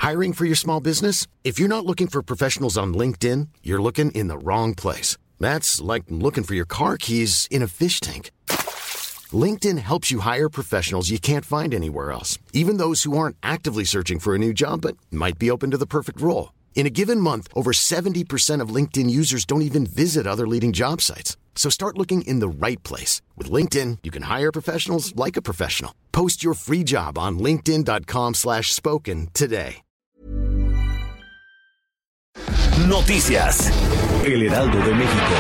Hiring for your small business? If you're not looking for professionals on LinkedIn, you're looking in the wrong place. That's like looking for your car keys in a fish tank. LinkedIn helps you hire professionals you can't find anywhere else, even those who aren't actively searching for a new job but might be open to the perfect role. In a given month, over 70% of LinkedIn users don't even visit other leading job sites. So start looking in the right place. With LinkedIn, you can hire professionals like a professional. Post your free job on linkedin.com/spoken today. Noticias. El Heraldo de México.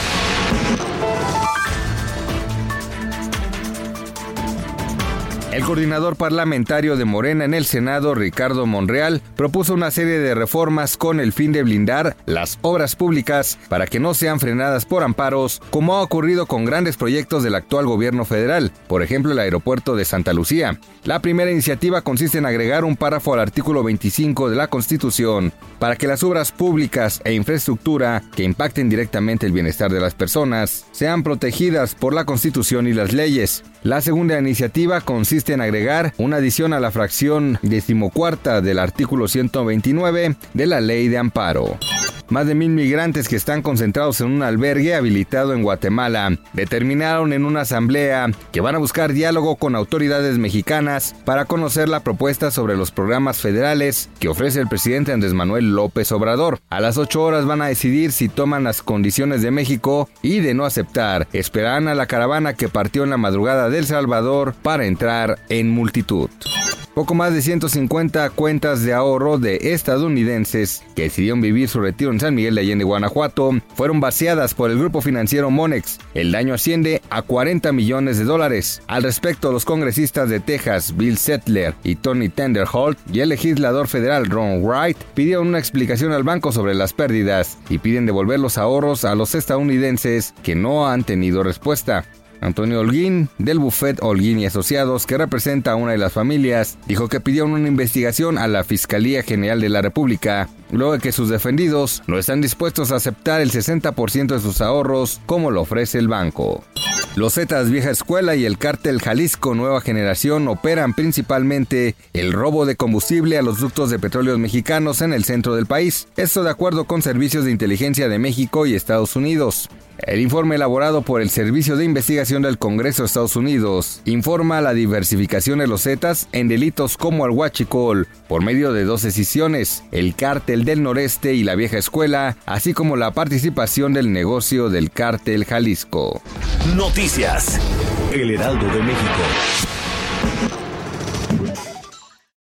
El coordinador parlamentario de Morena en el Senado, Ricardo Monreal, propuso una serie de reformas con el fin de blindar las obras públicas para que no sean frenadas por amparos, como ha ocurrido con grandes proyectos del actual gobierno federal, por ejemplo el aeropuerto de Santa Lucía. La primera iniciativa consiste en agregar un párrafo al artículo 25 de la Constitución para que las obras públicas e infraestructura que impacten directamente el bienestar de las personas sean protegidas por la Constitución y las leyes. La segunda iniciativa consiste en agregar una adición a la fracción 14ª del artículo 129 de la Ley de Amparo. Más de 1,000 migrantes que están concentrados en un albergue habilitado en Guatemala determinaron en una asamblea que van a buscar diálogo con autoridades mexicanas para conocer la propuesta sobre los programas federales que ofrece el presidente Andrés Manuel López Obrador. A las 8 horas van a decidir si toman las condiciones de México y, de no aceptar, esperarán a la caravana que partió en la madrugada de El Salvador para entrar en multitud. Poco más de 150 cuentas de ahorro de estadounidenses que decidieron vivir su retiro en San Miguel de Allende, Guanajuato, fueron vaciadas por el grupo financiero Monex. El daño asciende a $40 millones. Al respecto, los congresistas de Texas, Bill Settler y Tony Tenderholt, y el legislador federal Ron Wright, pidieron una explicación al banco sobre las pérdidas y piden devolver los ahorros a los estadounidenses que no han tenido respuesta. Antonio Holguín, del bufete Holguín y Asociados, que representa a una de las familias, dijo que pidieron una investigación a la Fiscalía General de la República, luego de que sus defendidos no están dispuestos a aceptar el 60% de sus ahorros como lo ofrece el banco. Los Zetas Vieja Escuela y el Cártel Jalisco Nueva Generación operan principalmente el robo de combustible a los ductos de petróleos mexicanos en el centro del país. Esto de acuerdo con servicios de inteligencia de México y Estados Unidos. El informe elaborado por el Servicio de Investigación del Congreso de Estados Unidos informa la diversificación de los Zetas en delitos como el huachicol por medio de 2 escisiones, el Cártel del Noreste y la Vieja Escuela, así como la participación del negocio del Cártel Jalisco. Noticias. El Heraldo de México.